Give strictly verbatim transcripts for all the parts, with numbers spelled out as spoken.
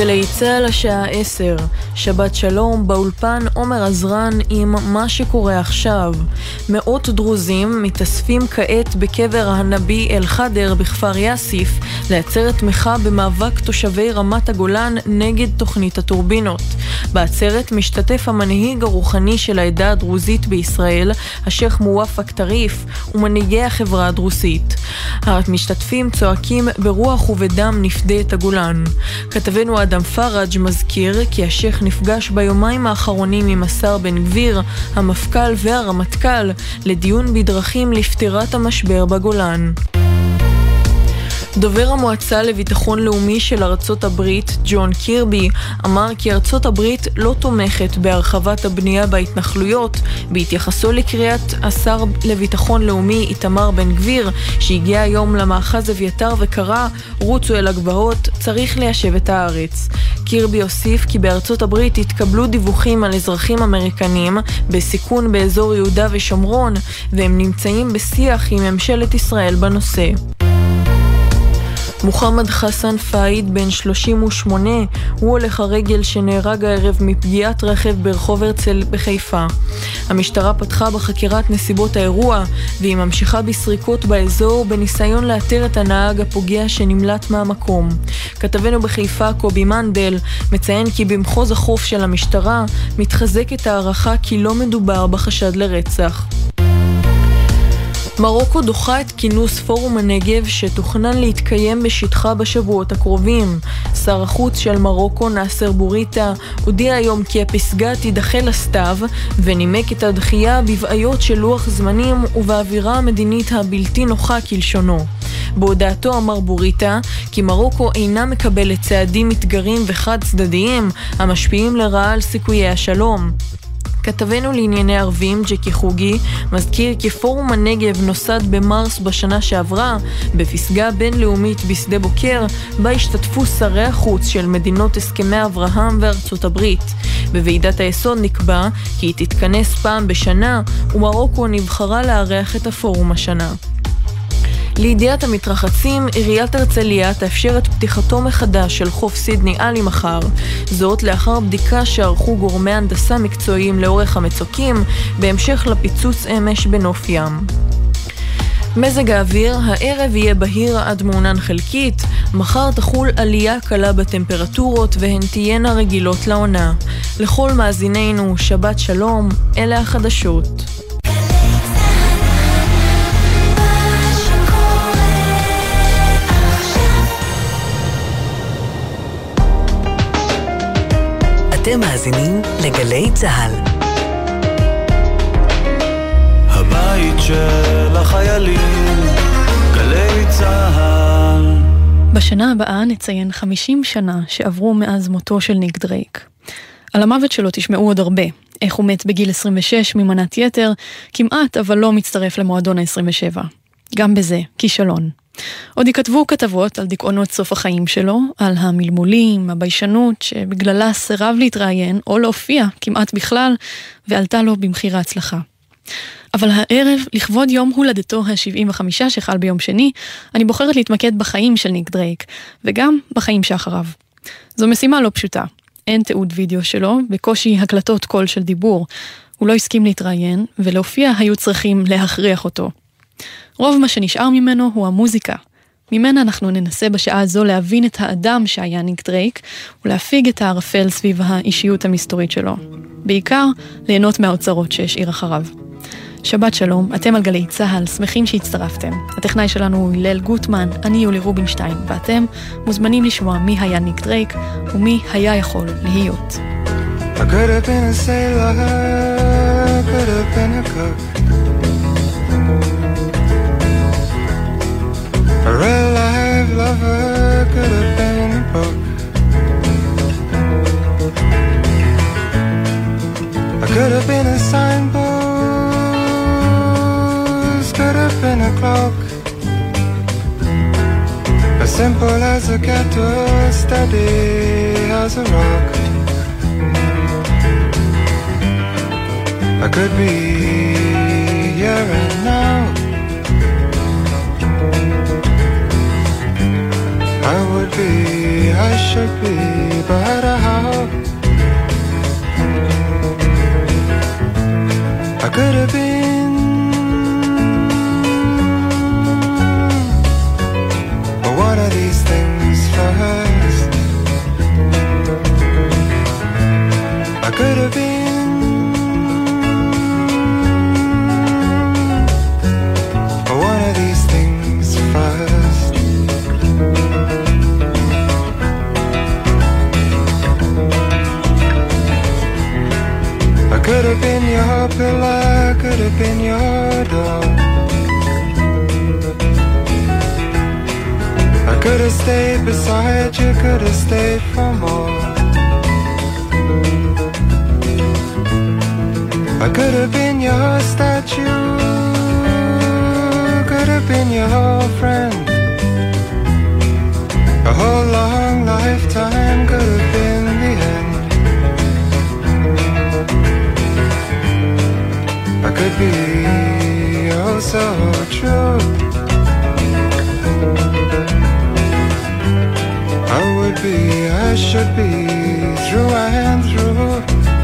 גלי צהל השעה עשר, שבת שלום, באולפן עומר עזרן עם מה שקורה עכשיו. מאות דרוזים מתאספים כעת בקבר הנביא אל חדר בכפר יאסיף לעצרת תמיכה במאבק תושבי רמת הגולן נגד תוכנית הטורבינות. בעצרת משתתף המנהיג הרוחני של העדה הדרוזית בישראל, השייח מואפק טריף, ומנהיגי החברה הדרוזית. המשתתפים צועקים ברוח ובדם נפדה את הגולן. כתבנו אדם פרג' מזכיר כי השייח נפגש ביומיים האחרונים עם השר בן גביר, המפכ"ל והרמטכ"ל לדיון בדרכים לפתירת המשבר בגולן. דובר המועצה לביטחון לאומי של ארצות הברית, ג'ון קירבי, אמר כי ארצות הברית לא תומכת בהרחבת הבנייה בהתנחלויות, בהתייחסו לקריאת השר לביטחון לאומי איתמר בן גביר, שהגיע היום למאחז אביתר וקרא, רוצו אל הגבעות, צריך ליישב את הארץ. קירבי הוסיף כי בארצות הברית התקבלו דיווחים על אזרחים אמריקנים בסיכון באזור יהודה ושומרון, והם נמצאים בשיח עם ממשלת ישראל בנושא. מוחמד חסן פאיד, בן שלושים ושמונה, הוא הולך הרגל שנהרג הערב מפגיעת רכב ברחוב הרצל בחיפה. המשטרה פתחה בחקירת נסיבות האירוע, והיא ממשיכה בסריקות באזור בניסיון לאתר את הנהג הפוגע שנמלט מהמקום. כתבנו בחיפה קובי מנדל מציין כי במחוז החוף של המשטרה מתחזקת הערכה כי לא מדובר בחשד לרצח. מרוקו דוחה את כינוס פורום הנגב שתוכנן להתקיים בשטחה בשבועות הקרובים. שר החוץ של מרוקו נאסר בוריטה הודיע היום כי הפסגה תידחה לסתיו, ונימק את הדחייה בבעיות של לוח זמנים ובאווירה המדינית הבלתי נוחה כלשונו. בהודעתו אמר בוריטה כי מרוקו אינה מקבלת צעדים מתגרים וחד צדדיים המשפיעים לרעה על סיכויי השלום. כתבנו לענייני ערבים ג'קי חוגי מזכיר כי פורום הנגב נוסד במרס בשנה שעברה בפסגה בינלאומית בשדה בוקר, בה השתתפו שרי החוץ של מדינות הסכמי אברהם וארצות הברית. בוועידת היסוד נקבע כי היא תתכנס פעם בשנה, ומרוקו נבחרה לארח את הפורום השנה. לידיעת המתרחצים, עיריית הרצליה תאפשר את פתיחתו מחדש של חוף סידני עלי מחר. זאת לאחר בדיקה שערכו גורמי הנדסה מקצועיים לאורך המצוקים, בהמשך לפיצוץ אמש בנוף ים. מזג האוויר, הערב יהיה בהיר עד מעונן חלקית, מחר תחול עלייה קלה בטמפרטורות והן תהיינה רגילות לעונה. לכל מאזינינו, שבת שלום, אלה החדשות. אתם מאזינים לגלי צהל. הבית של החיילים, גלי צהל. בשנה הבאה נציין חמישים שנה שעברו מאז מותו של ניק דרייק. על המוות שלו תשמעו עוד הרבה. איך הוא מת בגיל עשרים ושש ממנת יתר, כמעט אבל לא מצטרף למועדון ה-עשרים ושבע. גם בזה, כישלון. עוד יכתבו כתבות על דיכאונות סוף החיים שלו, על המלמולים, הביישנות שבגללה סירב להתראיין או להופיע כמעט בכלל, ועלתה לו במחיר ההצלחה. אבל הערב, לכבוד יום הולדתו ה-שבעים וחמש שחל ביום שני, אני בוחרת להתמקד בחיים של ניק דרייק, וגם בחיים שאחריו. זו משימה לא פשוטה. אין תיעוד וידאו שלו, בקושי הקלטות קול של דיבור. הוא לא הסכים להתראיין, ולהופיע היו צריכים להכריח אותו. רוב מה שנשאר ממנו הוא המוזיקה. ממנה אנחנו ננסה בשעה הזו להבין את האדם שהיה ניק דרייק, ולהפיג את הערפל סביב האישיות המסתורית שלו. בעיקר, ליהנות מהאוצרות שהשאיר אחריו. שבת שלום, אתם על גלי צהל, שמחים שהצטרפתם. הטכנאי שלנו הוא הלל גוטמן, אני יולי רובינשטיין, ואתם מוזמנים לשמוע מי היה ניק דרייק, ומי היה יכול להיות. I could have been a sailor, could have been a cook, a real life lover, could have been a book. I could have been a signpost, could have been a clock, as simple as a kettle, steady as a rock. I could be here and now, I would be, I should be, but how? I could have been, but what are these things first? I could have been, but what are these things first? I could have been your pillar, could have been your door. I could have stayed beside you, could have stayed for more. I could have been your statue, could have been your friend. A whole long lifetime could have been the end. I could be oh so true. I would be, I should be, through and through.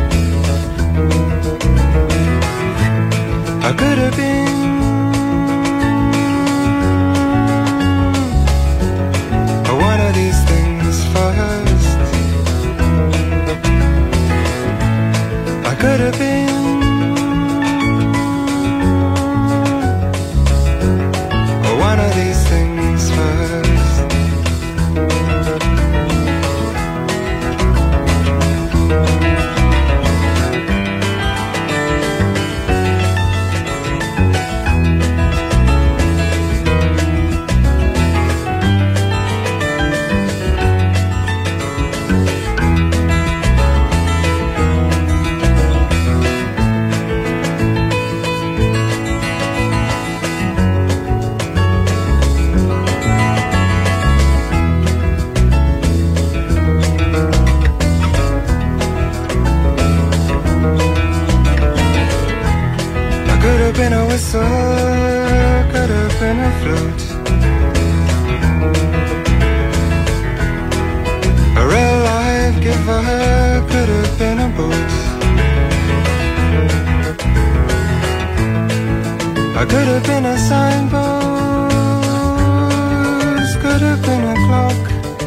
I could have been, but what are these things first? I could have been, but what are these things first? Been a whistle, could have been a flute. A real life giver, could have been a boot. I could have been a signpost, could have been a clock.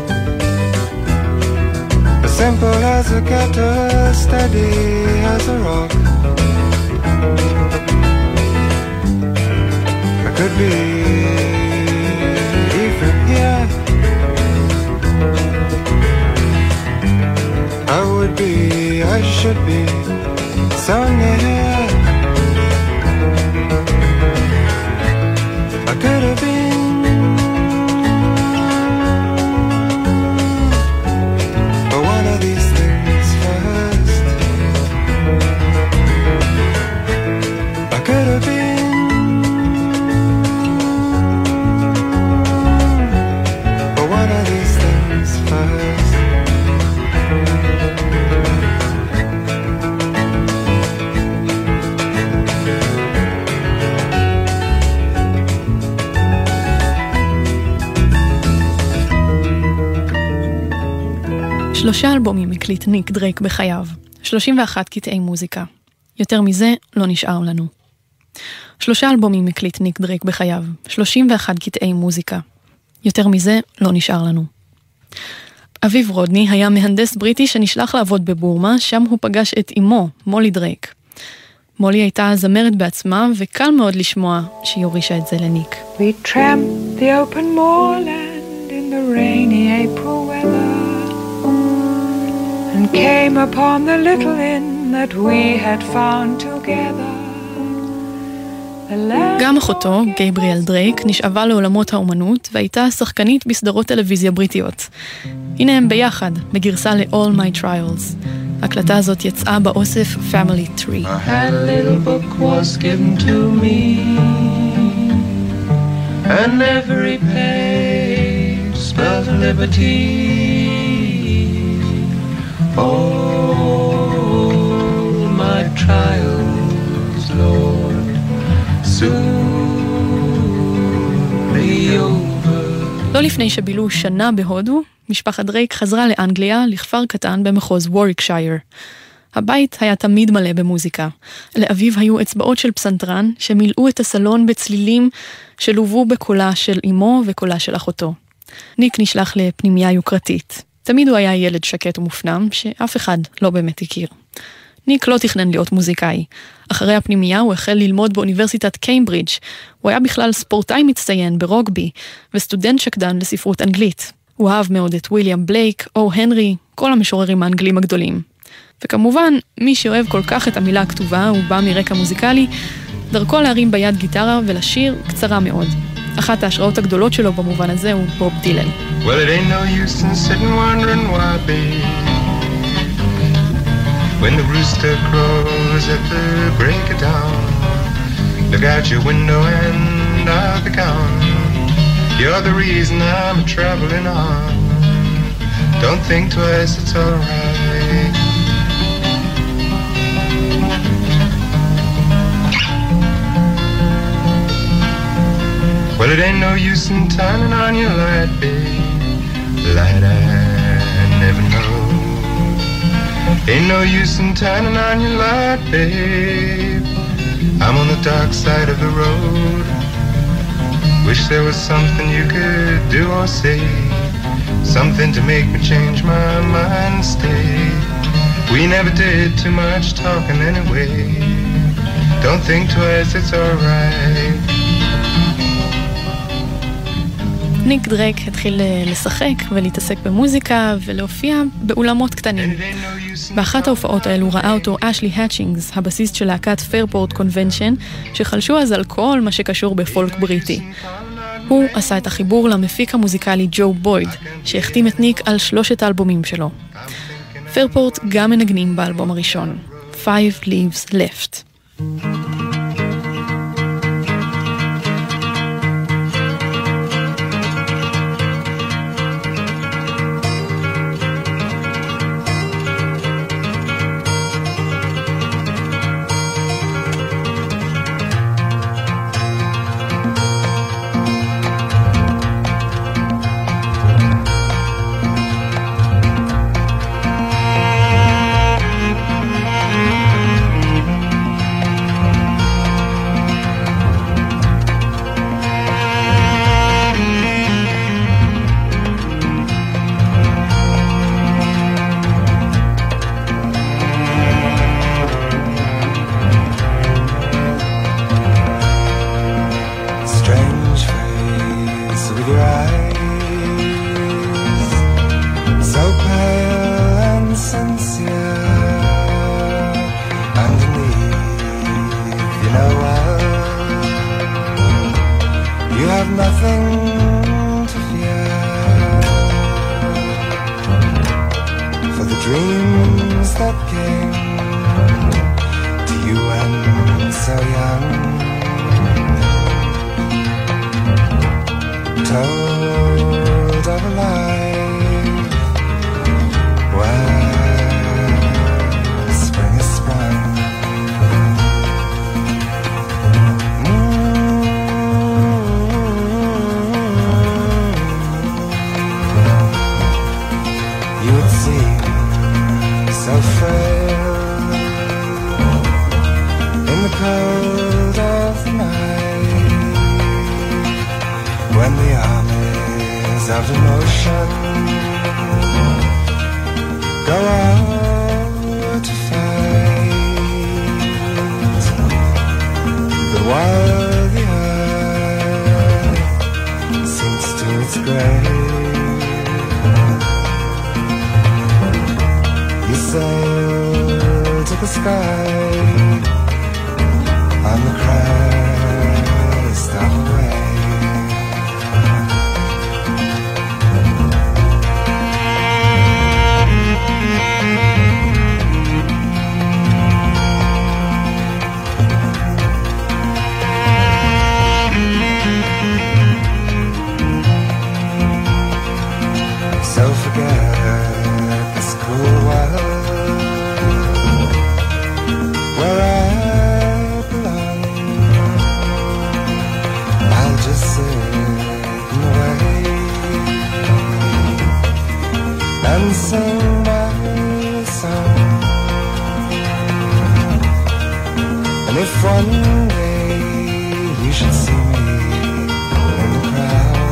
As simple as a kettle, steady as a rock. Could be even here. I would be, I should be, so near. I could have been, but one of these things first. I could have been, שלושה אלבומים הקליט ניק דרייק בחייו, שלושים ואחת קטעי מוזיקה. יותר מזה לא נשאר לנו. שלושה אלבומים הקליט ניק דרייק בחייו, שלושים ואחת קטעי מוזיקה. יותר מזה לא נשאר לנו. אביב רודני היה מהנדס בריטי שנשלח לעבוד בבורמה, שם הוא פגש את אמו, מולי דרייק. מולי הייתה זמרת בעצמה, וקל מאוד לשמוע שהיא הורישה את זה לניק. We tramped the open moorland in the rainy April weather and came upon the little inn that we had found together. גם אחותו, גייבריאל דרייק, נשאבה לעולמות האומנות והייתה שחקנית בסדרות טלוויזיה בריטיות. הנה הם ביחד, בגרסה ל-All My Trials. ההקלטה הזאת יצאה באוסף Family Tree. A little book was given to me and every page spelled liberty. All my trials, Lord, soon be over. לא לפני שבילו שנה בהודו, משפחת דרייק חזרה לאנגליה, לכפר קטן במחוז ווריקשייר. הבית היה תמיד מלא במוזיקה. לאביו היו אצבעות של פסנתרן שמילאו את הסלון בצלילים שלובו בקולה של אמו וקולה של אחותו. ניק נשלח לפנימיה יוקרתית. תמיד הוא היה ילד שקט ומופנם שאף אחד לא באמת הכיר. ניק לא תכנן להיות מוזיקאי. אחרי הפנימיה הוא החל ללמוד באוניברסיטת קיימברידג'. הוא היה בכלל ספורטאי מצטיין ברוגבי וסטודנט שקדן לספרות אנגלית. הוא אהב מאוד את וויליאם בלייק, או הנרי, כל המשוררים האנגלים הגדולים. וכמובן, מי שאוהב כל כך את המילה הכתובה, הוא בא מרקע מוזיקלי, דרכו להרים ביד גיטרה ולשיר קצרה מאוד. אחת ההשראות הגדולות שלו במובן הזה הוא בוב דילן. Well, it ain't no use in sitting wondering why, babe. When the rooster crows at the break of dawn, look out your window and I'll be gone. You're the reason I'm traveling on. Don't think twice, it's alright. Well, it ain't no use in turning on your light, babe. Light I never know. Ain't no use in turning on your light, babe. I'm on the dark side of the road. Wish there was something you could do or say, something to make me change my mind and stay. We never did too much talking anyway. Don't think twice, it's alright. ניק דרייק התחיל לשחק ולהתעסק במוזיקה ולהופיע באולמות קטנים. באחת ההופעות האלו ראה אותו אשלי האצ'ינגס, הבסיסט של להקת פיירפורט קונבנשן, שחלשו אז על כל מה שקשור בפולק בריטי. הוא עשה את החיבור למפיק המוזיקלי ג'ו בויד, שהחתים את ניק על שלושת האלבומים שלו. פיירפורט גם מנגנים באלבום הראשון, Five Leaves Left. If one day you should see me in the crowd,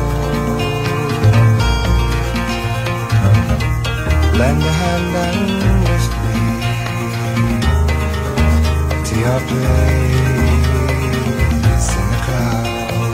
lend a hand and lift me to your place in the cloud.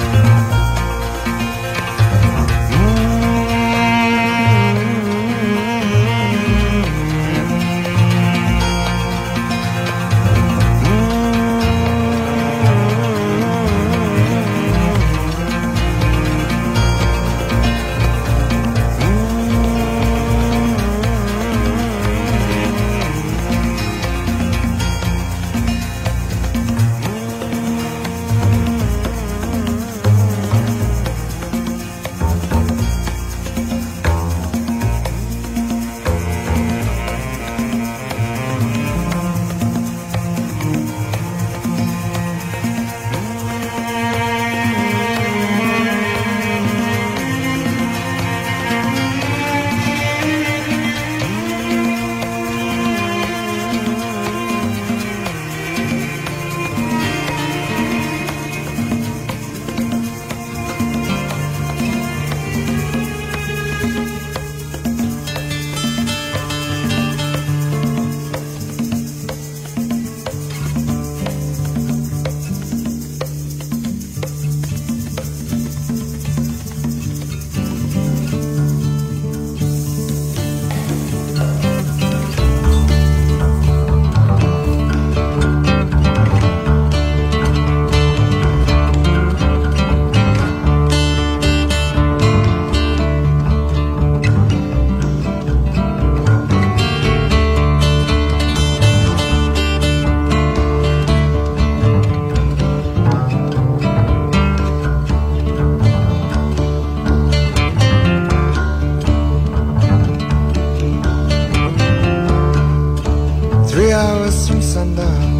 Three hours from sundown,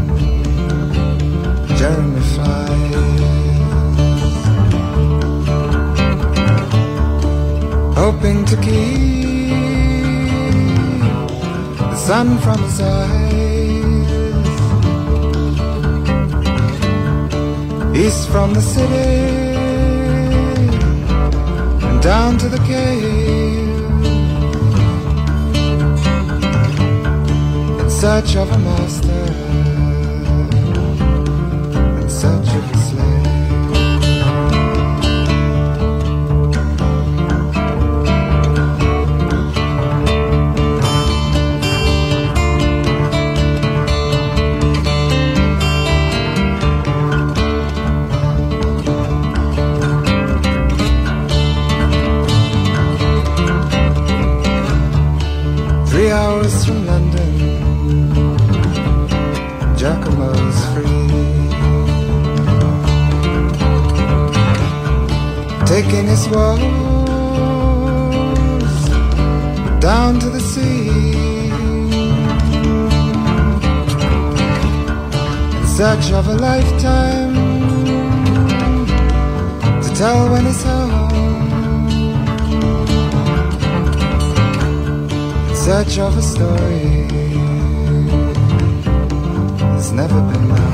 Jeremy flies, hoping to keep the sun from his eyes. East from the city and down to the cave, in search of a master, in search of a slave. Three hours from London, Giacomo's free, taking his woes down to the sea, in search of a lifetime to tell when he's home, in search of a story that's never been known.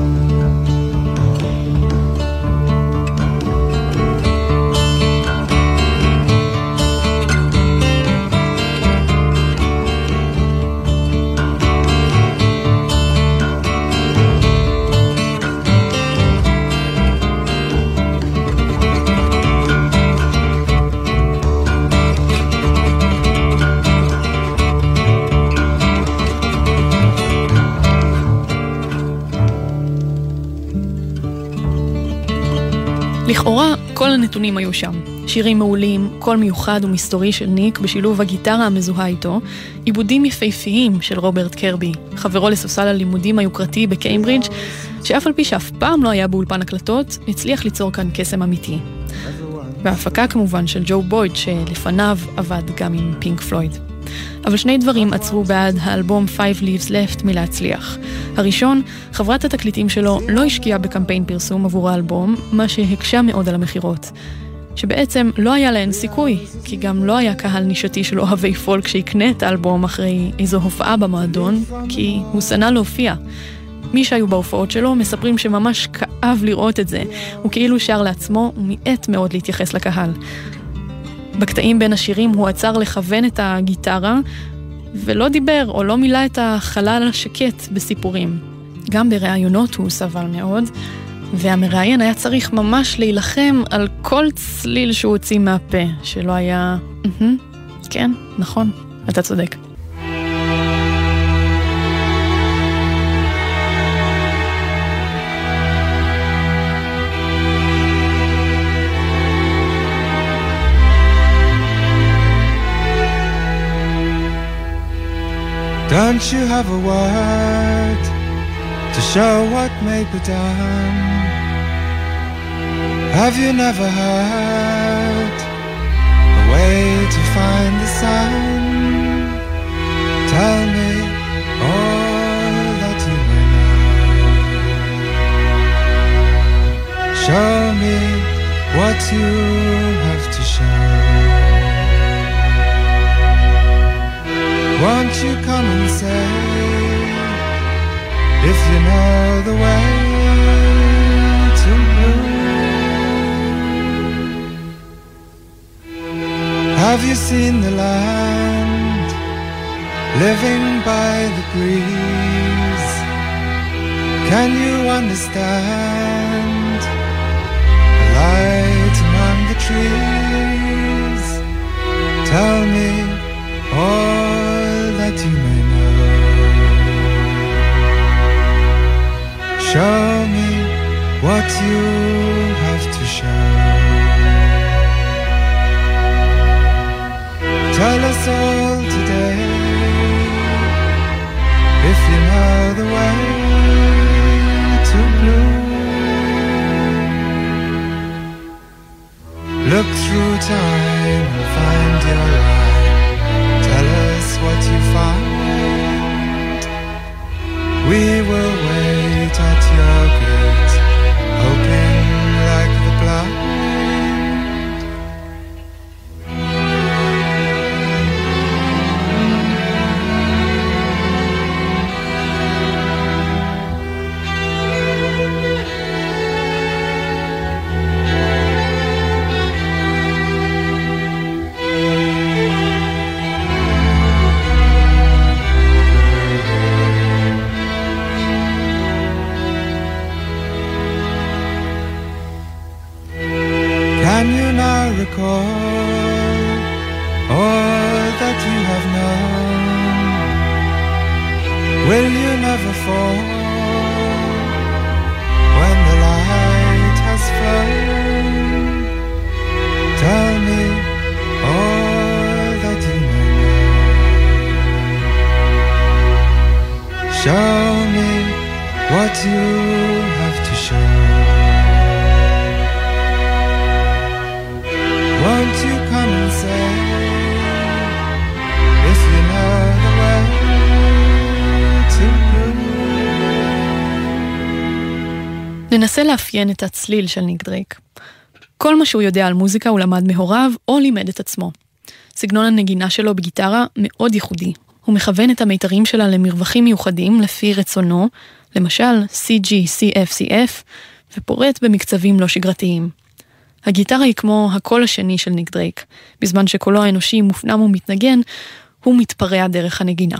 לכאורה, כל הנתונים היו שם. שירים מעולים, קול מיוחד ומסתורי של ניק בשילוב הגיטרה המזוהה איתו, עיבודים יפהפיים של רוברט קרבי, חברו לספסל הלימודים היוקרתי בקיימברידג', שאף על פי שאף פעם לא היה באולפן הקלטות, הצליח ליצור כאן קסם אמיתי. וההפקה כמובן של ג'ו בויד, שלפניו עבד גם עם פינק פלויד. אבל שני דברים עצרו בעד האלבום Five Leaves Left מלהצליח. הראשון, חברת התקליטים שלו לא השקיעה בקמפיין פרסום עבור האלבום, מה שהקשה מאוד על המחירות. שבעצם לא היה להן סיכוי, כי גם לא היה קהל נישתי של אוהבי פולק שיקנה את האלבום אחרי איזו הופעה במועדון, כי הוא סנה להופיע. מי שהיו בהופעות שלו מספרים שממש כאב לראות את זה. הוא כאילו שר לעצמו ומיעט מאוד להתייחס לקהל. בקטעים בין השירים הוא עצר לכוון את הגיטרה, ולא דיבר או לא מילא את החלל השקט בסיפורים. גם בראיונות הוא סבל מאוד, והמראיין היה צריך ממש להילחם על כל צליל שהוא הוציא מהפה, שלא היה... כן, נכון, אתה צודק. Don't you have a word to show what may be done? Have you never heard a way to find the sun? Tell me all that you may know. Show me what you have to show. Won't you come and say if you know the way to blue? Have you seen the land living by the breeze? Can you understand the light among the trees? Tell me all that you may know. Show me what you have to show. Tell us all today if you know the way to blue. Look through time and find your eye. Tell us what you find. We will wait at your gate, hoping like the blind. Can you now recall all that you have known? Will you never fall when the light has flown? Tell me all that you may know. Show me what you have to show. Won't you come and say if you know the way to blue? ננסה לאפיין את הצליל של ניק דרייק. כל מה שהוא יודע על מוזיקה הוא למד מהוריו או לימד את עצמו. סגנון הנגינה שלו בגיטרה מאוד ייחודי. הוא מכוון את המיתרים שלה למרווחים מיוחדים לפי רצונו, למשל סי ג'י, סי אף, סי אף, ופורט במקצבים לא שגרתיים. הגיטרה היא כמו הקול השני של ניק דרייק. בזמן שקולו האנושי מופנם ומתנגן, הוא מתפרע דרך הנגינה.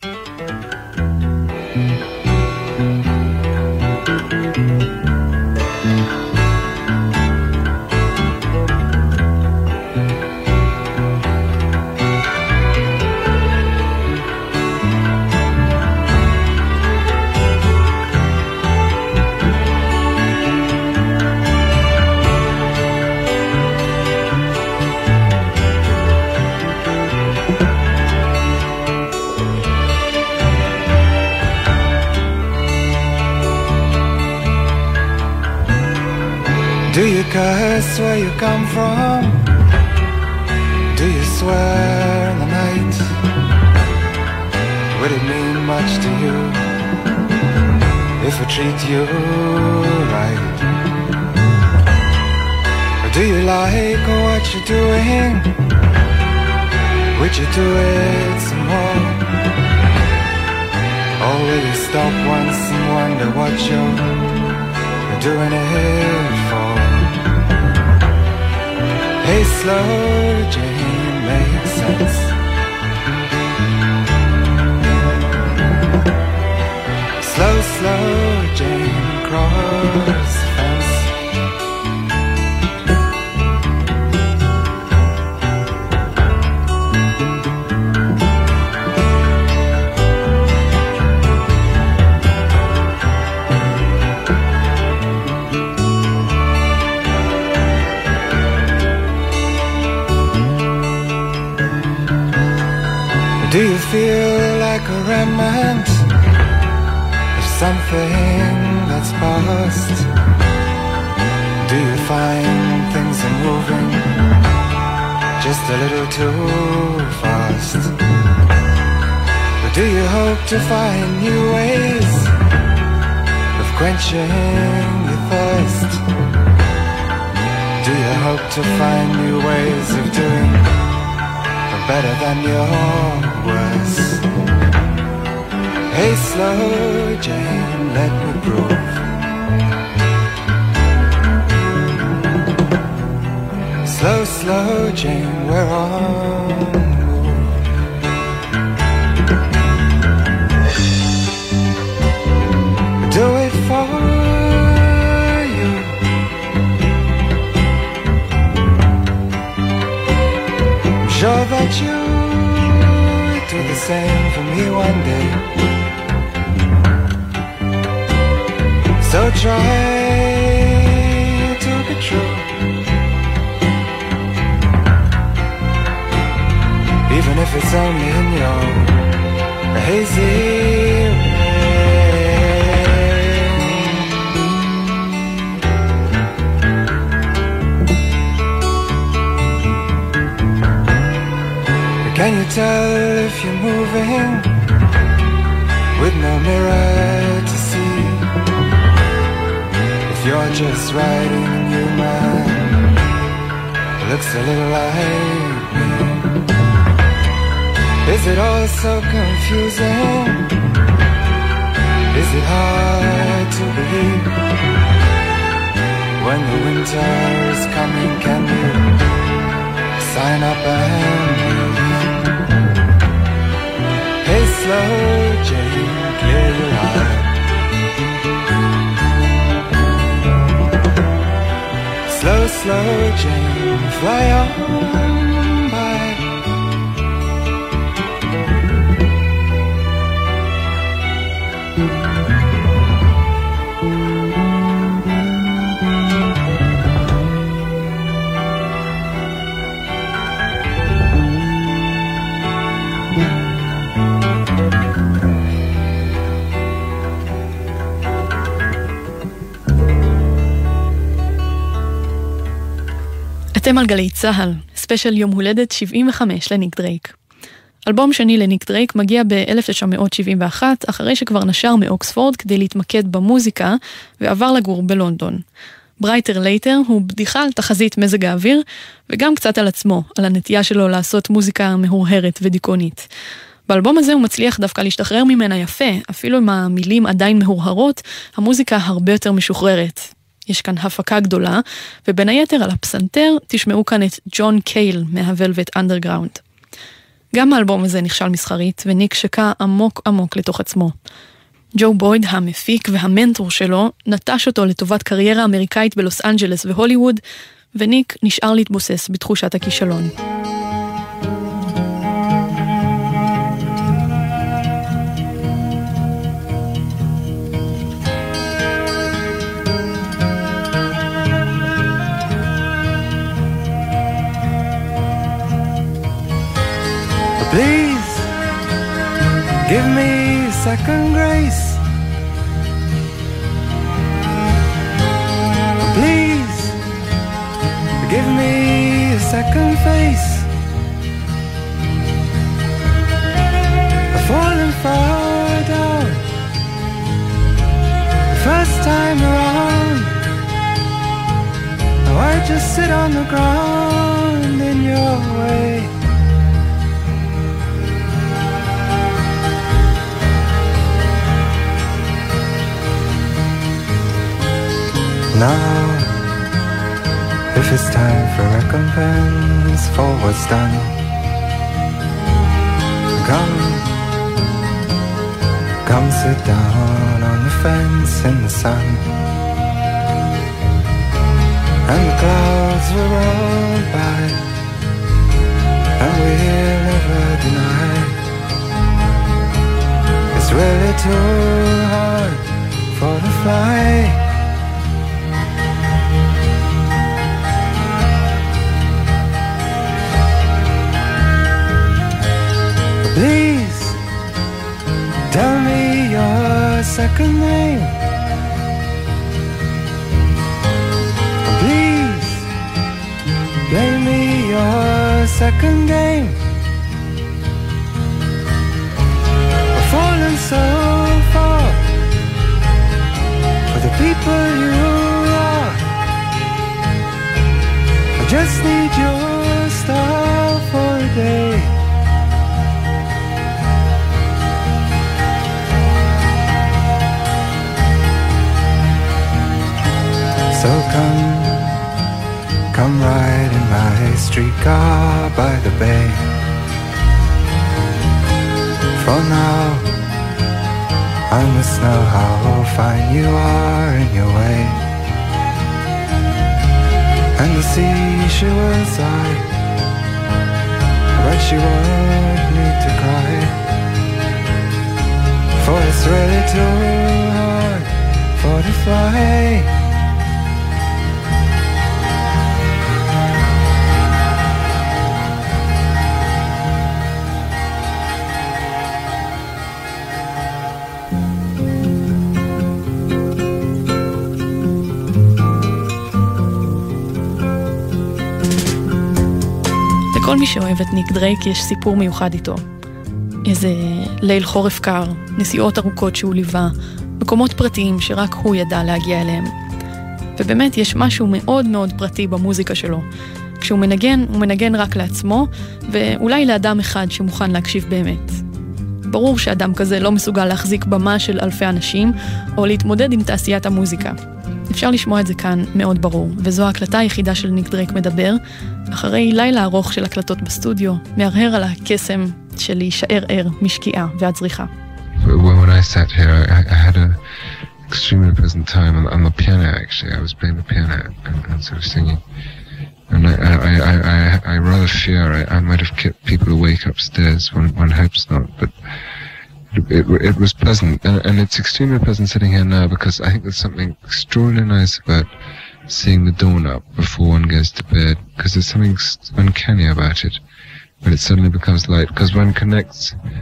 Do you curse where you come from? Do you swear in the night? Would it mean much to you if I treat you right? Or do you like what you're doing? Would you do it some more? Or will you stop once and wonder what you're doing it for? Hey, slow Jane, makes sense. Slow, slow Jane, cross the fence. Do you feel like a remnant of something that's past? Do you find things are moving just a little too fast? Or do you hope to find new ways of quenching your thirst? Do you hope to find new ways of doing better than your worst? Hey, slow Jane, let me prove. Slow, slow Jane, we're on the move. Do it for you. I'm sure that you do the same for me one day. So try to be true, even if it's only in your hazy way. Can you tell if you're moving with no mirror to see? You're just riding a new man, it looks a little like me. Is it all so confusing? Is it hard to believe? When the winter is coming, can you sign up and leave? Hey, slow Jane, clear your eye. Slow, slow Jane, fly on by. אתם על גלי צהל, ספיישל יום הולדת שבעים וחמש לניק דרייק. אלבום שני לניק דרייק מגיע ב-אלף תשע מאות שבעים ואחת, אחרי שכבר נשר מאוקספורד כדי להתמקד במוזיקה, ועבר לגור בלונדון. ברייטר לייטר הוא בדיחה על תחזית מזג האוויר, וגם קצת על עצמו, על הנטייה שלו לעשות מוזיקה מהורהרת ודיכאונית. באלבום הזה הוא מצליח דווקא להשתחרר ממנה יפה, אפילו אם המילים עדיין מהורהרות, המוזיקה הרבה יותר משוחררת. יש כאן הפקה גדולה, ובין היתר על הפסנתר תשמעו כאן את ג'ון קייל מהוולווט אנדרגראונד. גם האלבום הזה נכשל מסחרית, וניק שקע עמוק עמוק לתוך עצמו. ג'ו בויד, המפיק והמנטור שלו, נטש אותו לטובת קריירה אמריקאית בלוס אנג'לס והוליווד, וניק נשאר להתבוסס בתחושת הכישלון. Please give me second grace. Please give me a second face. I've fallen far down the first time around. Now I just sit on the ground in your way. Now, if it's time for recompense for what's done, come, come sit down on the fence in the sun. And the clouds will roll by, and we'll never deny it's really too hard for the fly. Please tell me your second name. Please play me your second game. I've fallen so far for the people you are. I just need your star for a day. So come, come ride in my streetcar by the bay. For now, I must know how fine you are in your way. And the sea, she will sigh, but she won't need to cry, for it's really too hard for the fly. לכל מי שאוהב את ניק דרייק יש סיפור מיוחד איתו. איזה ליל חורף קר, נסיעות ארוכות שהוא ליווה, מקומות פרטיים שרק הוא ידע להגיע אליהם. ובאמת יש משהו מאוד מאוד פרטי במוזיקה שלו. כשהוא מנגן, הוא מנגן רק לעצמו, ואולי לאדם אחד שמוכן להקשיב באמת. ברור שאדם כזה לא מסוגל להחזיק במה של אלפי אנשים, או להתמודד עם תעשיית המוזיקה. אפשר לשמוע את זה כאן מאוד ברור, וזו ההקלטה היחידה של ניק דרייק מדבר, אחרי לילה ארוך של הקלטות בסטודיו, מהרהר על הקסם של להישאר ער משקיעה ועד זריחה. When I sat here, I, I had an extremely pleasant time on, on the piano, actually. I was playing the piano and, and sort of singing. And I, I, I, I, I rather fear I, I might have kept people awake upstairs. One, one hopes not, but it, it, it was pleasant. And, and it's extremely pleasant sitting here now because I think there's something extraordinarily nice about seeing the dawn up before one goes to bed, because there's something uncanny about it when it suddenly becomes light, because one connects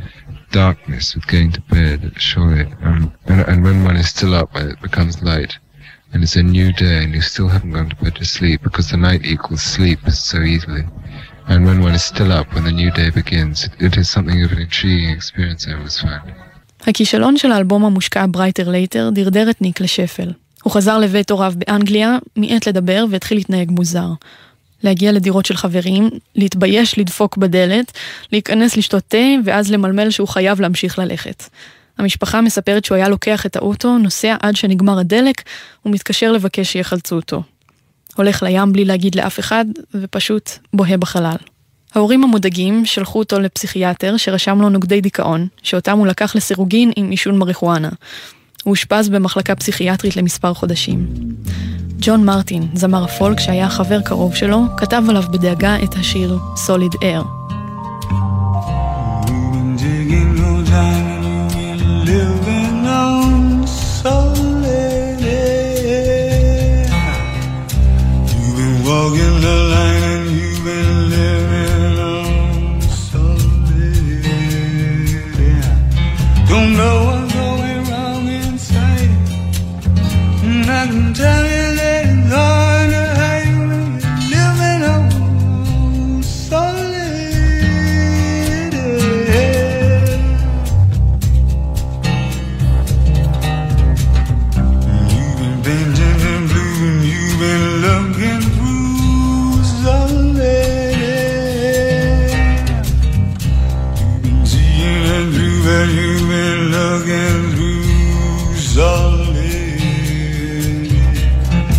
darkness with going to bed, surely, um, and, and when one is still up when it becomes light and it's a new day and you still haven't gone to bed to sleep, because the night equals sleep so easily, and when one is still up when the new day begins, it, it is something of an intriguing experience I always found. הכישלון של האלבום המושקע Brighter Later דרדר את ניק לשפל. הוא חזר לבית הוריו באנגליה, מיעט לדבר והתחיל להתנהג מוזר. להגיע לדירות של חברים, להתבייש לדפוק בדלת, להיכנס לשתות תה, ואז למלמל שהוא חייב להמשיך ללכת. המשפחה מספרת שהוא היה לוקח את האוטו, נוסע עד שנגמר הדלק, ומתקשר לבקש שיחלצו אותו. הולך לים בלי להגיד לאף אחד, ופשוט בוהה בחלל. ההורים המודאגים שלחו אותו לפסיכיאטר שרשם לו נוגדי דיכאון, שאותם הוא לקח לסירוגין עם עישון מריחואנה. הוא אושפז במחלקה פסיכיאטרית למספר חודשים. ג'ון מרטין, זמר הפולק שהיה חבר קרוב שלו, כתב עליו בדאגה את השיר Solid Air. Walking the line and you've been living on solid air. Don't know what's going wrong inside, and I can tell you that it's hard to hide when you're living on solid air. You've been bending and blue and you've been looking through. But you've been looking through solid.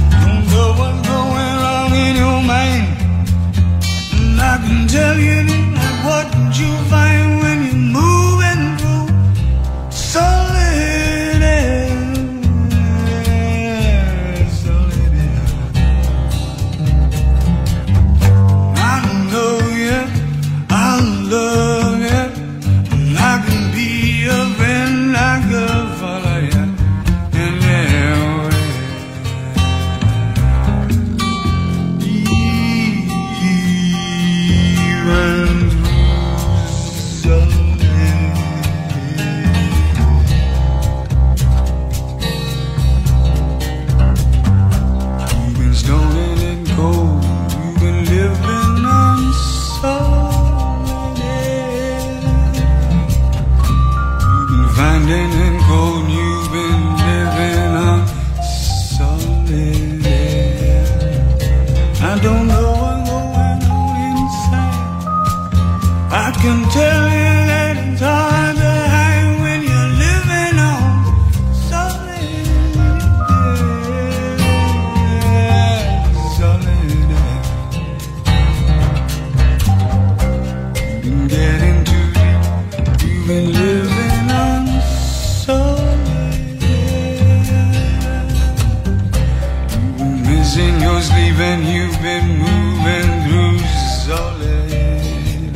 was in your sleep and you've been moving through solid.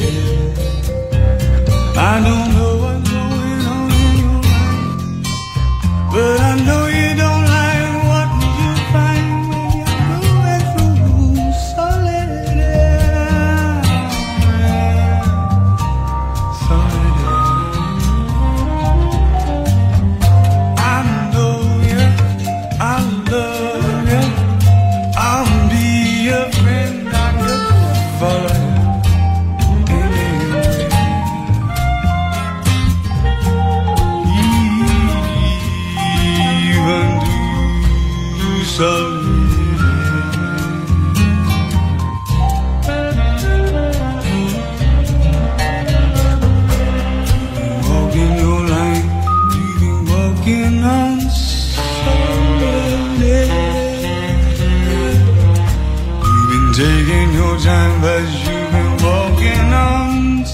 I don't know what's going on in your mind, but I know you don't like what you find when you're moving through solid. Solid. I know you, I love you, I'll be your friend, I could follow you. Walking your line, you've been walking on solid. You've been taking your time, but you've been walking on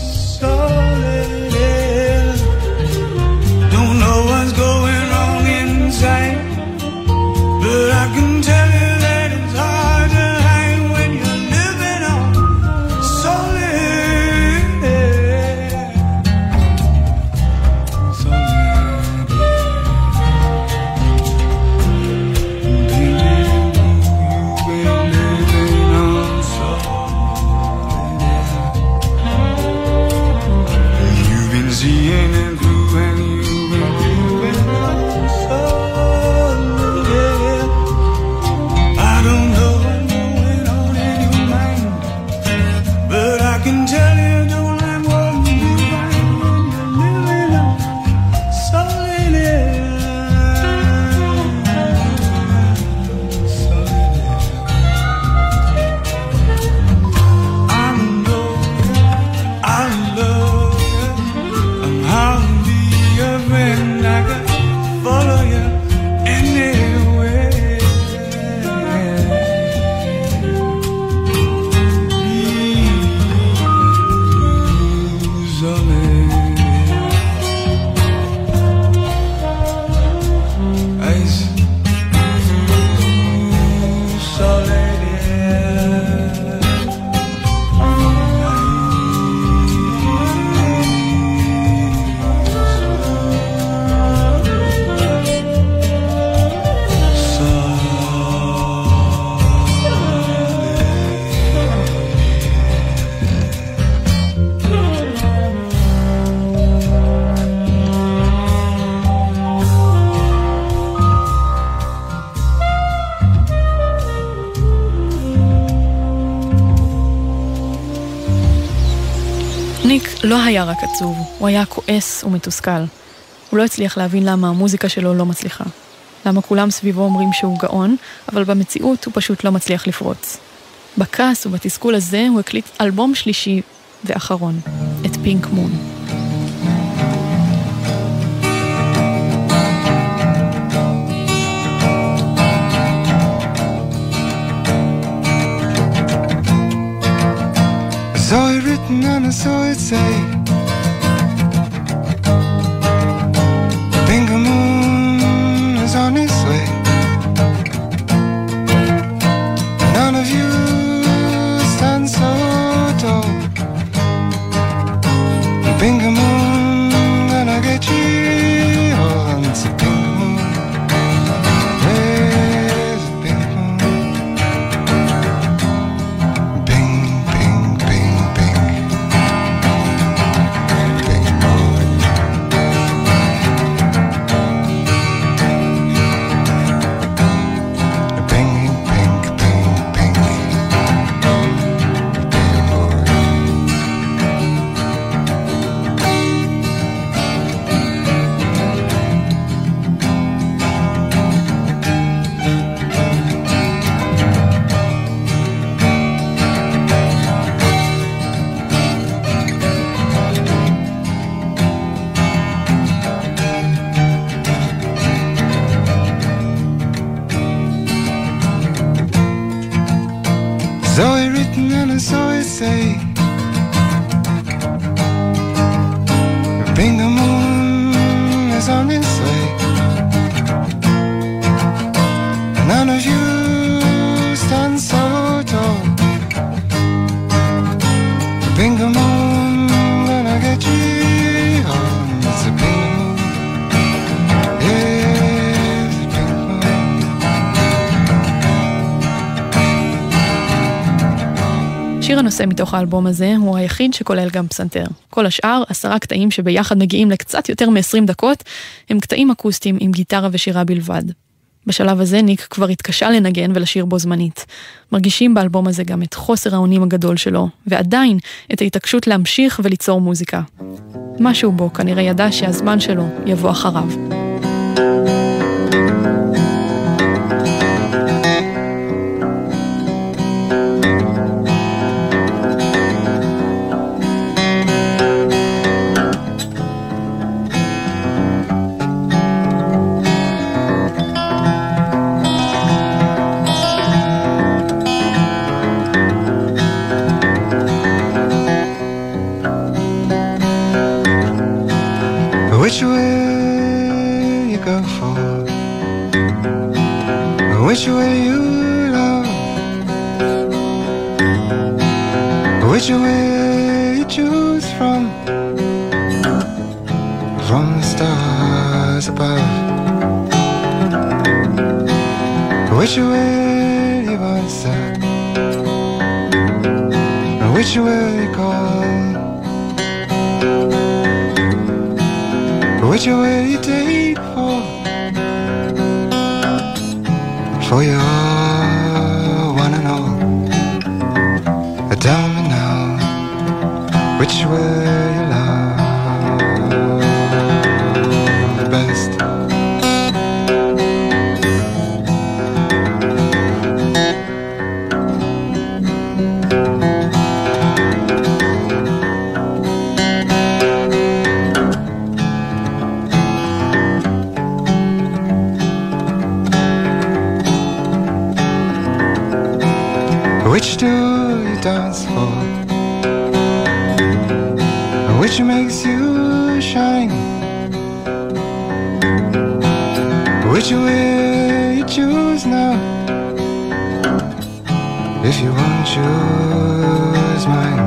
solid. Don't know what's going on inside, but I can tell you that it's hard to hide when you're living on solid. Solid. Baby, you've been living on solid. You've been seeing it through and you've been living on solid. I don't know what's going on in your mind, but I can tell you don't like what you find when you're living on solid. Solid. I know you, I love you, I'm how to be your friend, I can follow you anywhere. ניק לא היה רק עצוב, הוא היה כועס ומתוסכל. הוא לא הצליח להבין למה המוזיקה שלו לא מצליחה. למה כולם סביבו אומרים שהוא גאון, אבל במציאות הוא פשוט לא מצליח לפרוץ. בכעס ובתסכול הזה הוא הקליט אלבום שלישי ואחרון, את פינק מון. Saw it written and I saw it say, Pink moon is on its way. None of you stand so tall. Pink moon, gonna get you all. It's a pink moon. Where's the pink moon? Pink, pink, pink, pink. Pink moon. Pink, pink, pink, pink. Pink moon. Saw it written and I saw it say, Pink moon is on its way. None of you שיר הנושא מתוך האלבום הזה הוא היחיד שכולל גם פסנתר. כל השאר, עשרה קטעים שביחד מגיעים לקצת יותר מ-עשרים דקות, הם קטעים אקוסטיים עם גיטרה ושירה בלבד. בשלב הזה ניק כבר התקשה לנגן ולשיר בו זמנית. מרגישים באלבום הזה גם את חוסר האונים הגדול שלו, ועדיין את ההתעקשות להמשיך וליצור מוזיקה. משהו בו כנראה ידע שהזמן שלו יבוא אחריו. Which way you go for? Which way you love? Which way you choose from? From the stars above. Which way you answer? Which way you call? Which way you take for? For your one and all. Tell me now, which way you love the best? Which do you dance for? Which makes you shine? Which way you choose now? If you won't choose mine,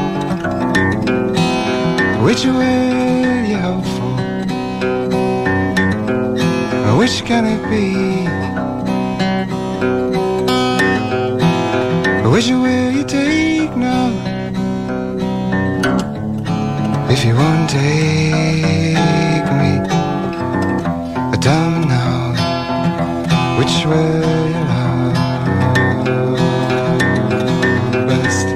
which way you hope for? Which can it be? Which way you take now? If you won't take me, tell me now, which way you love best?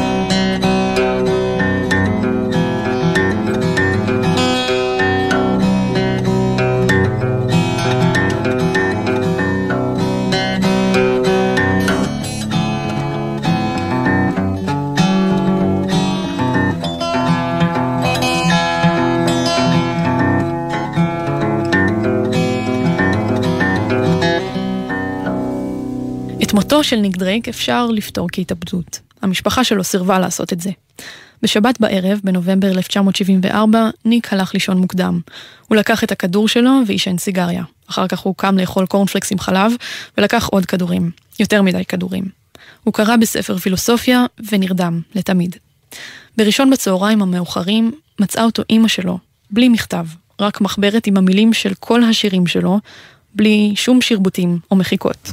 מותו של ניק דרייק אפשר לפתור כהתאבדות. המשפחה שלו סירבה לעשות את זה. בשבת בערב, בנובמבר אלף תשע מאות שבעים וארבע, ניק הלך לישון מוקדם. הוא לקח את הכדור שלו ועישן סיגריה. אחר כך הוא קם לאכול קורנפלקס עם חלב, ולקח עוד כדורים. יותר מדי כדורים. הוא קרא בספר פילוסופיה ונרדם לתמיד. בראשון בצהריים המאוחרים מצאה אותו אמא שלו, בלי מכתב, רק מחברת עם המילים של כל השירים שלו, בלי שום שרבוטים או מחיקות.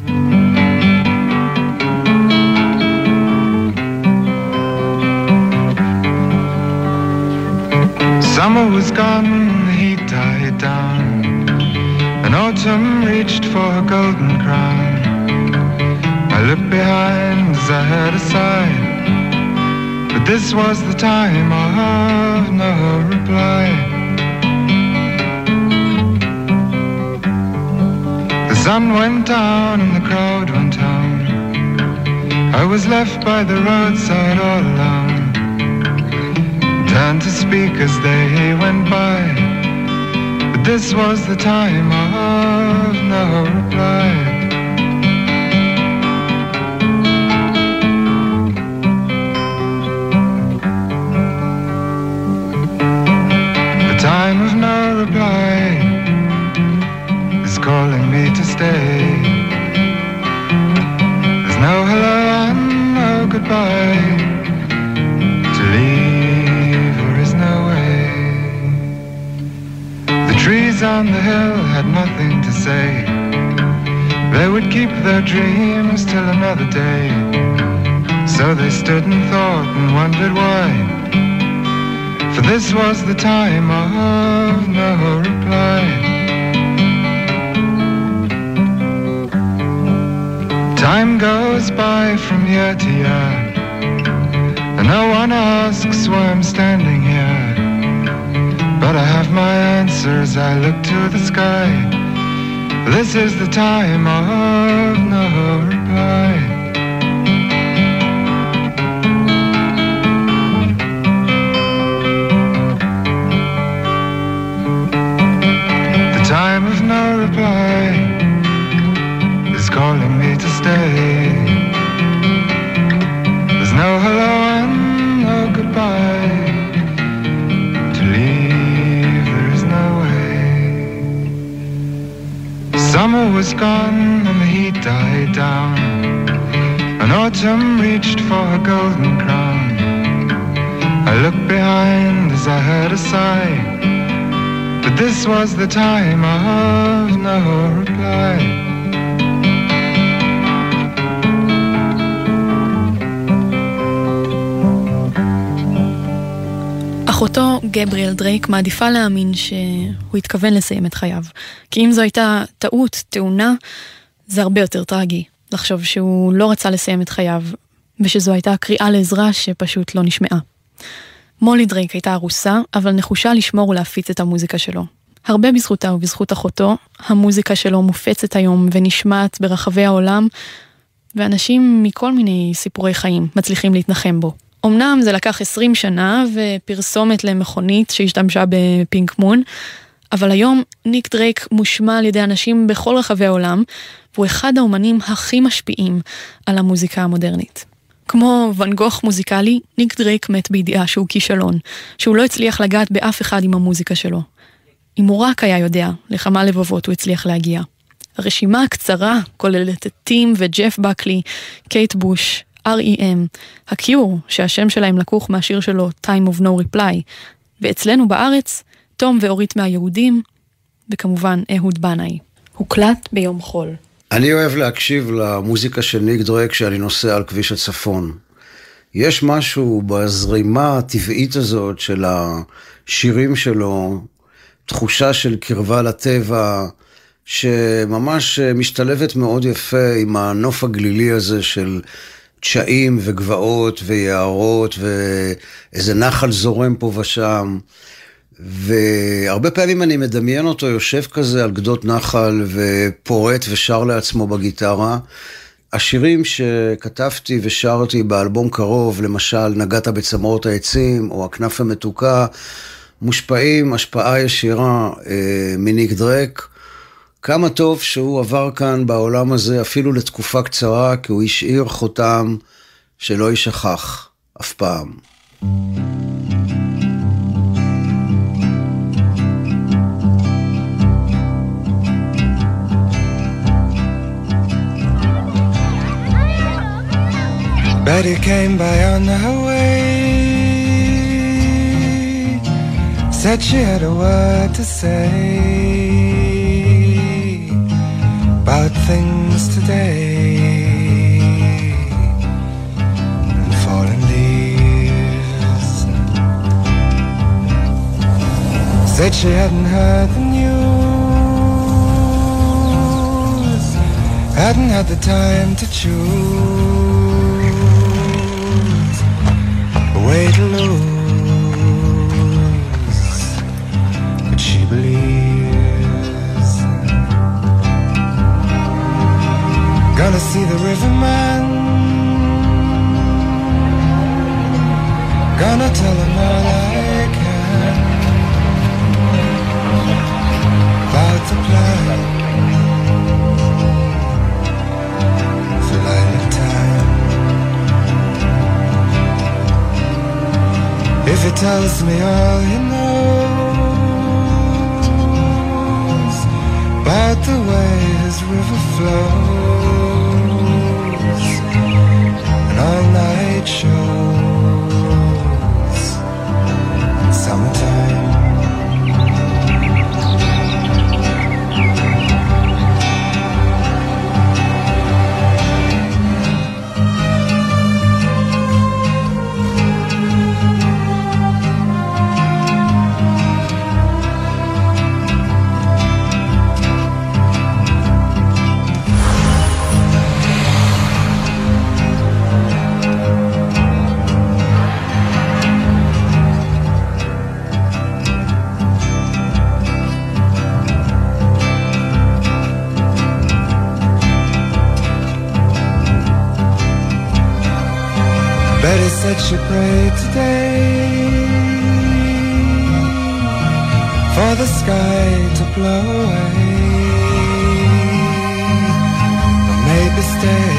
Summer was gone, the heat died down, and autumn reached for her golden crown. I looked behind as I heard a sigh, but this was the time of no reply. The sun went down and the crowd went home. I was left by the roadside all alone. Turned to speak as they went by, but this was the time of no reply. The time of no reply is calling me to stay. There's no hello and no goodbye. To leave no way. The trees on the hill had nothing to say. They would keep their dreams till another day. So they stood and thought and wondered why, for this was the time of no reply. Time goes by from year to year, and no one asks why I'm standing here. But I have my answers, I look to the sky. This is the time of no reply. The time of no reply is calling me to stay. There's no hello and no goodbye. To leave there is no way. Summer was gone and the heat died down, and autumn reached for her golden crown. I looked behind as I heard a sigh, but this was the time of no reply. אחותו גבריאל דרייק מעדיפה להאמין שהוא התכוון לסיים את חייו. כי אם זו הייתה טעות, תאונה, זה הרבה יותר טרגי. לחשוב שהוא לא רצה לסיים את חייו, ושזו הייתה קריאה לעזרה שפשוט לא נשמעה. מולי דרייק הייתה ארוסה, אבל נחושה לשמור ולהפיץ את המוזיקה שלו. הרבה בזכותה ובזכות אחותו, המוזיקה שלו מופצת היום ונשמעת ברחבי העולם, ואנשים מכל מיני סיפורי חיים מצליחים להתנחם בו. אמנם זה לקח עשרים שנה ופרסומת למכונית שהשתמשה בפינק מון, אבל היום ניק דרייק מושמע על ידי אנשים בכל רחבי העולם, והוא אחד האומנים הכי משפיעים על המוזיקה המודרנית. כמו ואן גוך מוזיקלי, ניק דרייק מת בידיעה שהוא כישלון, שהוא לא הצליח לגעת באף אחד עם המוזיקה שלו. אם הוא רק היה יודע לכמה לבבות הוא הצליח להגיע. הרשימה הקצרה כוללת את טים וג'ף בקלי, קייט בוש, אר אי אם, הקיור, שהשם שלהם לקוח מהשיר שלו Time of No Reply, ואצלנו בארץ, תום ואורית מהיהודים, וכמובן אהוד בנאי. הוקלט ביום חול. אני אוהב להקשיב למוזיקה של ניק דרייק כשאני נוסע על כביש הצפון. יש משהו בזרימה הטבעית הזאת של השירים שלו, תחושה של קרבה לטבע, שממש משתלבת מאוד יפה עם הנוף הגלילי הזה של תשעים וגבעות ויערות ואיזה נחל זורם פה ושם. והרבה פעמים אני מדמיין אותו יושב כזה על גדות נחל ופורט ושר לעצמו בגיטרה. השירים שכתבתי ושרתי באלבום קרוב, למשל נגעת בצמרות העצים או הכנף המתוקה, מושפעים השפעה ישירה אה, מניק דרייק. כמה טוב שהוא עבר כאן בעולם הזה אפילו לתקופה קצרה, כי הוא השאיר חותם שלא יישכח אף פעם. Betty came by on her way, said she had a word to say about things today and fallen leaves. Said she hadn't heard the news, hadn't had the time to choose a way to lose, but she believes. Gonna see the riverman, gonna tell him all I can about the plan for light time. If he tells me all he knows about the way his river flows and all night shows in summertime. Betty said she prayed today for the sky to blow away, or maybe stay.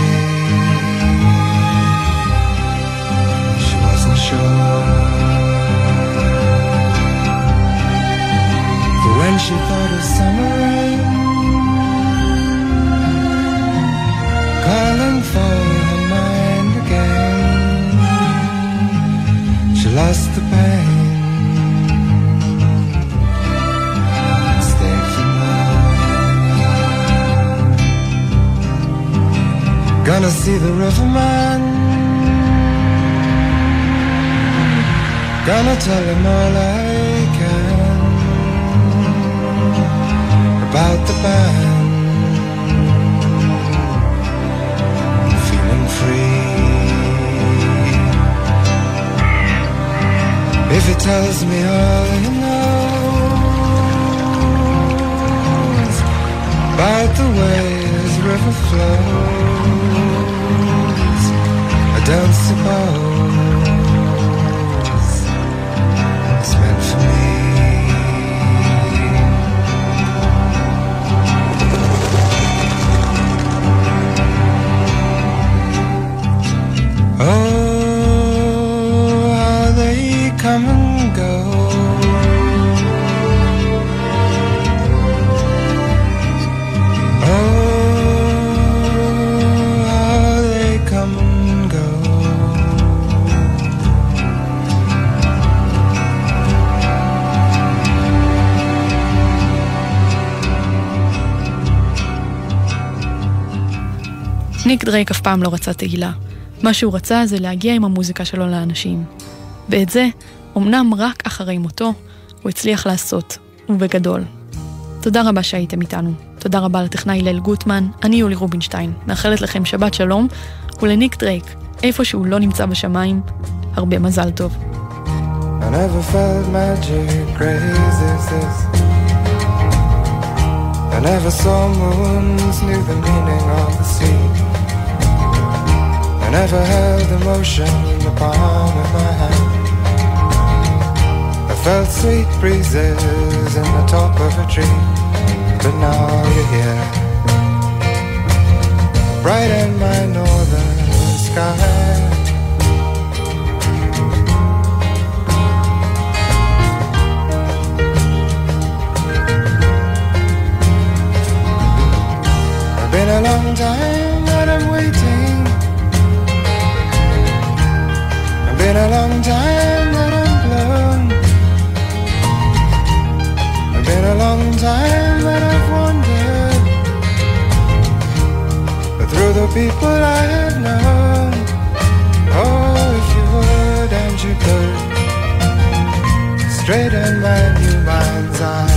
She wasn't sure. For when she thought of summer rain calling for her mind again, she lost the pain. Gonna see the riverman, gonna tell him all I can about the band. Feeling free. If he tells me all he knows about the way his river flows, I don't suppose it's meant for me. Oh, how they come and go, oh, ניק דרייק אף פעם לא רצה תהילה. מה שהוא רצה זה להגיע עם המוזיקה שלו לאנשים. ואת זה, אמנם רק אחרי מותו, הוא הצליח לעשות, ובגדול. תודה רבה שהייתם איתנו. תודה רבה לטכנאי ליל גוטמן, אני יולי רובינשטיין. מאחלת לכם שבת שלום, ולניק דרייק, איפה שהוא לא נמצא בשמיים, הרבה מזל טוב. I never felt magic crazy as this. I never saw moons, knew the meaning of the sea. I never held emotion in the palm of my hand. I felt sweet breezes in the top of a tree. But now you're here, bright in my northern sky. It's been a long time that I'm waiting. It's been a long time that I'm blown. It's been a long time that I've wandered, but through the people I have known. Oh, if you would and you could straighten my new mind's eye.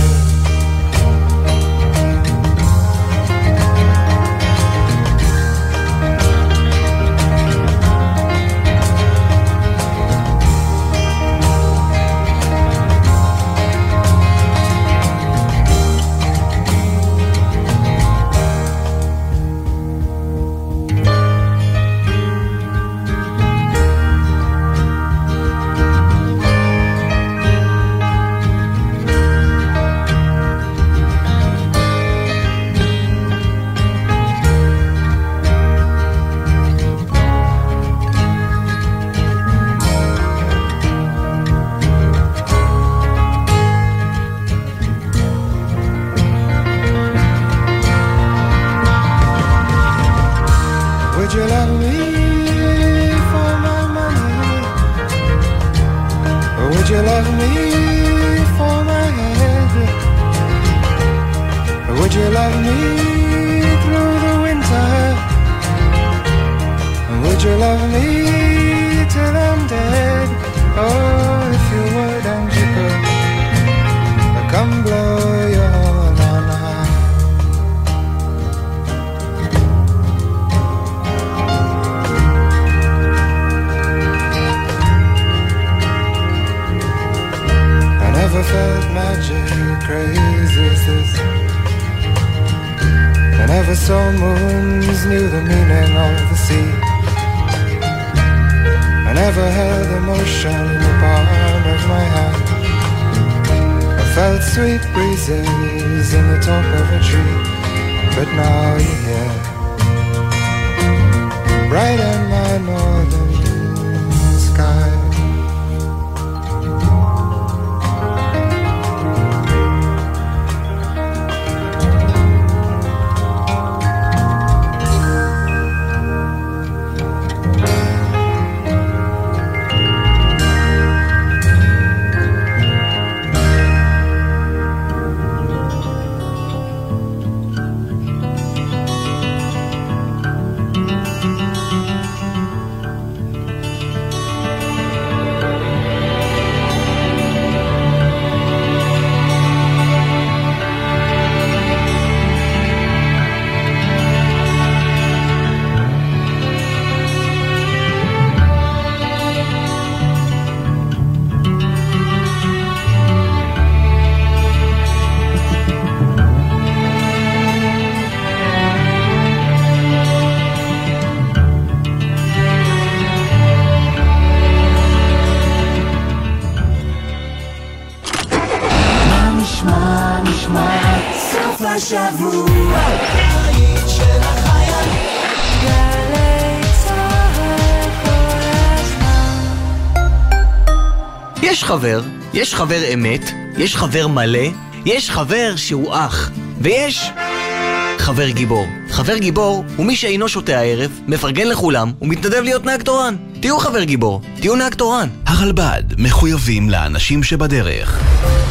never held emotion in the palm of my hand. I felt sweet breezes in the top of a tree, but now you're here, bright in my northern sky. השבוע בית של החיילים גלי צהל כל הזמן. יש חבר, יש חבר אמת, יש חבר מלא, יש חבר שהוא אח, ויש חבר גיבור. חבר גיבור הוא מי שאינו שותה הערב, מפרגן לכולם ומתנדב להיות נהג תורן. תהיו חבר גיבור, תהיו נהג תורן. הרלב"ד מחויבים לאנשים שבדרך.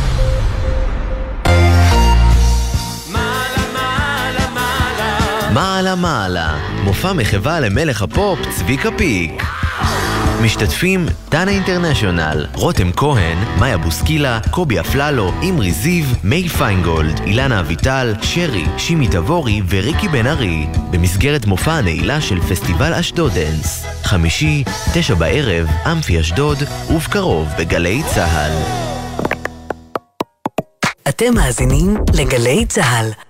מעלה מעלה, מופע מחווה למלך הפופ צביקה פיק. משתתפים דנה אינטרנשיונל, רותם כהן, מאיה בוסקילה, קובי אפללו, אמרי זיו, מי פיינגולד, אילנה אביטל, שרי, שימי תבורי וריקי בן ארי, במסגרת מופע הנעילה של פסטיבל אשדוד דנס. חמישי, תשע בערב, אמפי אשדוד, ובקרוב בגלי צהל. אתם מאזינים לגלי צהל.